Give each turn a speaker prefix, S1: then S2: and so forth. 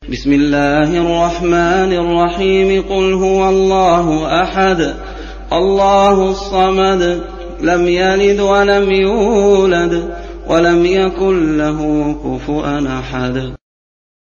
S1: بسم الله الرحمن الرحيم قل هو الله أحد الله الصمد لم يلد ولم يولد ولم يكن له كفوا أحد